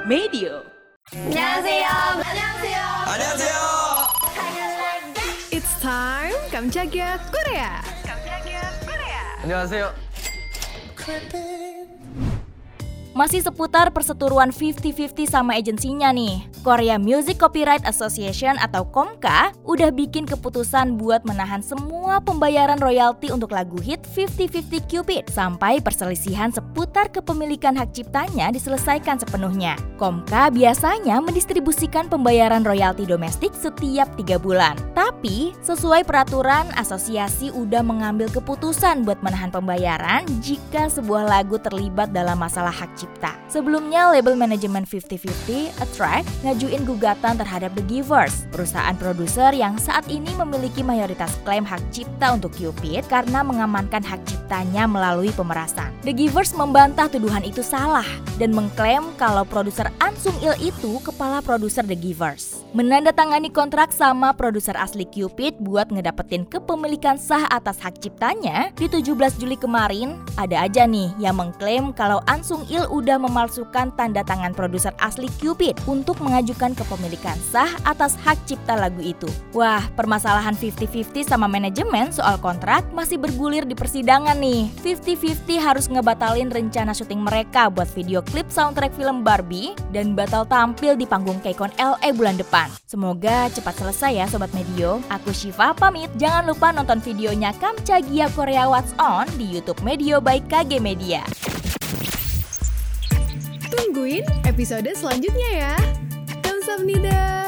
Medio. 안녕하세요. 안녕하세요. 안녕하세요. It's time Kamchagia Korea. 안녕하세요. Masih seputar perseteruan 50-50 sama agensinya nih. Korea Music Copyright Association atau KOMCA udah bikin keputusan buat menahan semua pembayaran royalti untuk lagu hit 50-50 Cupid sampai perselisihan seputar kepemilikan hak ciptanya diselesaikan sepenuhnya. KOMCA biasanya mendistribusikan pembayaran royalti domestik setiap 3 bulan. Tapi, sesuai peraturan, asosiasi udah mengambil keputusan buat menahan pembayaran jika sebuah lagu terlibat dalam masalah hak cipta. Sebelumnya, label manajemen 50-50, Attract, ngajuin gugatan terhadap The Givers, perusahaan produser yang saat ini memiliki mayoritas klaim hak cipta untuk Cupid karena mengamankan hak ciptanya melalui pemerasan. The Givers membantah tuduhan itu salah dan mengklaim kalau produser An Sung Il itu kepala produser The Givers. Menandatangani kontrak sama produser asli Cupid buat ngedapetin kepemilikan sah atas hak ciptanya di 17 Juli kemarin, ada aja nih yang mengklaim kalau An Sung Il udah memalsukan tanda tangan produser asli Cupid untuk mengajukan kepemilikan sah atas hak cipta lagu itu. Wah, permasalahan 50-50 sama manajemen soal kontrak masih bergulir di persidangan nih. 50-50 harus ngebatalin rencana syuting mereka buat video klip soundtrack film Barbie dan batal tampil di panggung KCON LA bulan depan. Semoga cepat selesai ya Sobat Medio. Aku Syifa pamit. Jangan lupa nonton videonya Kamchagia Korea What's On di YouTube Medio by KG Media. Tungguin episode selanjutnya ya. Kamsahamnida.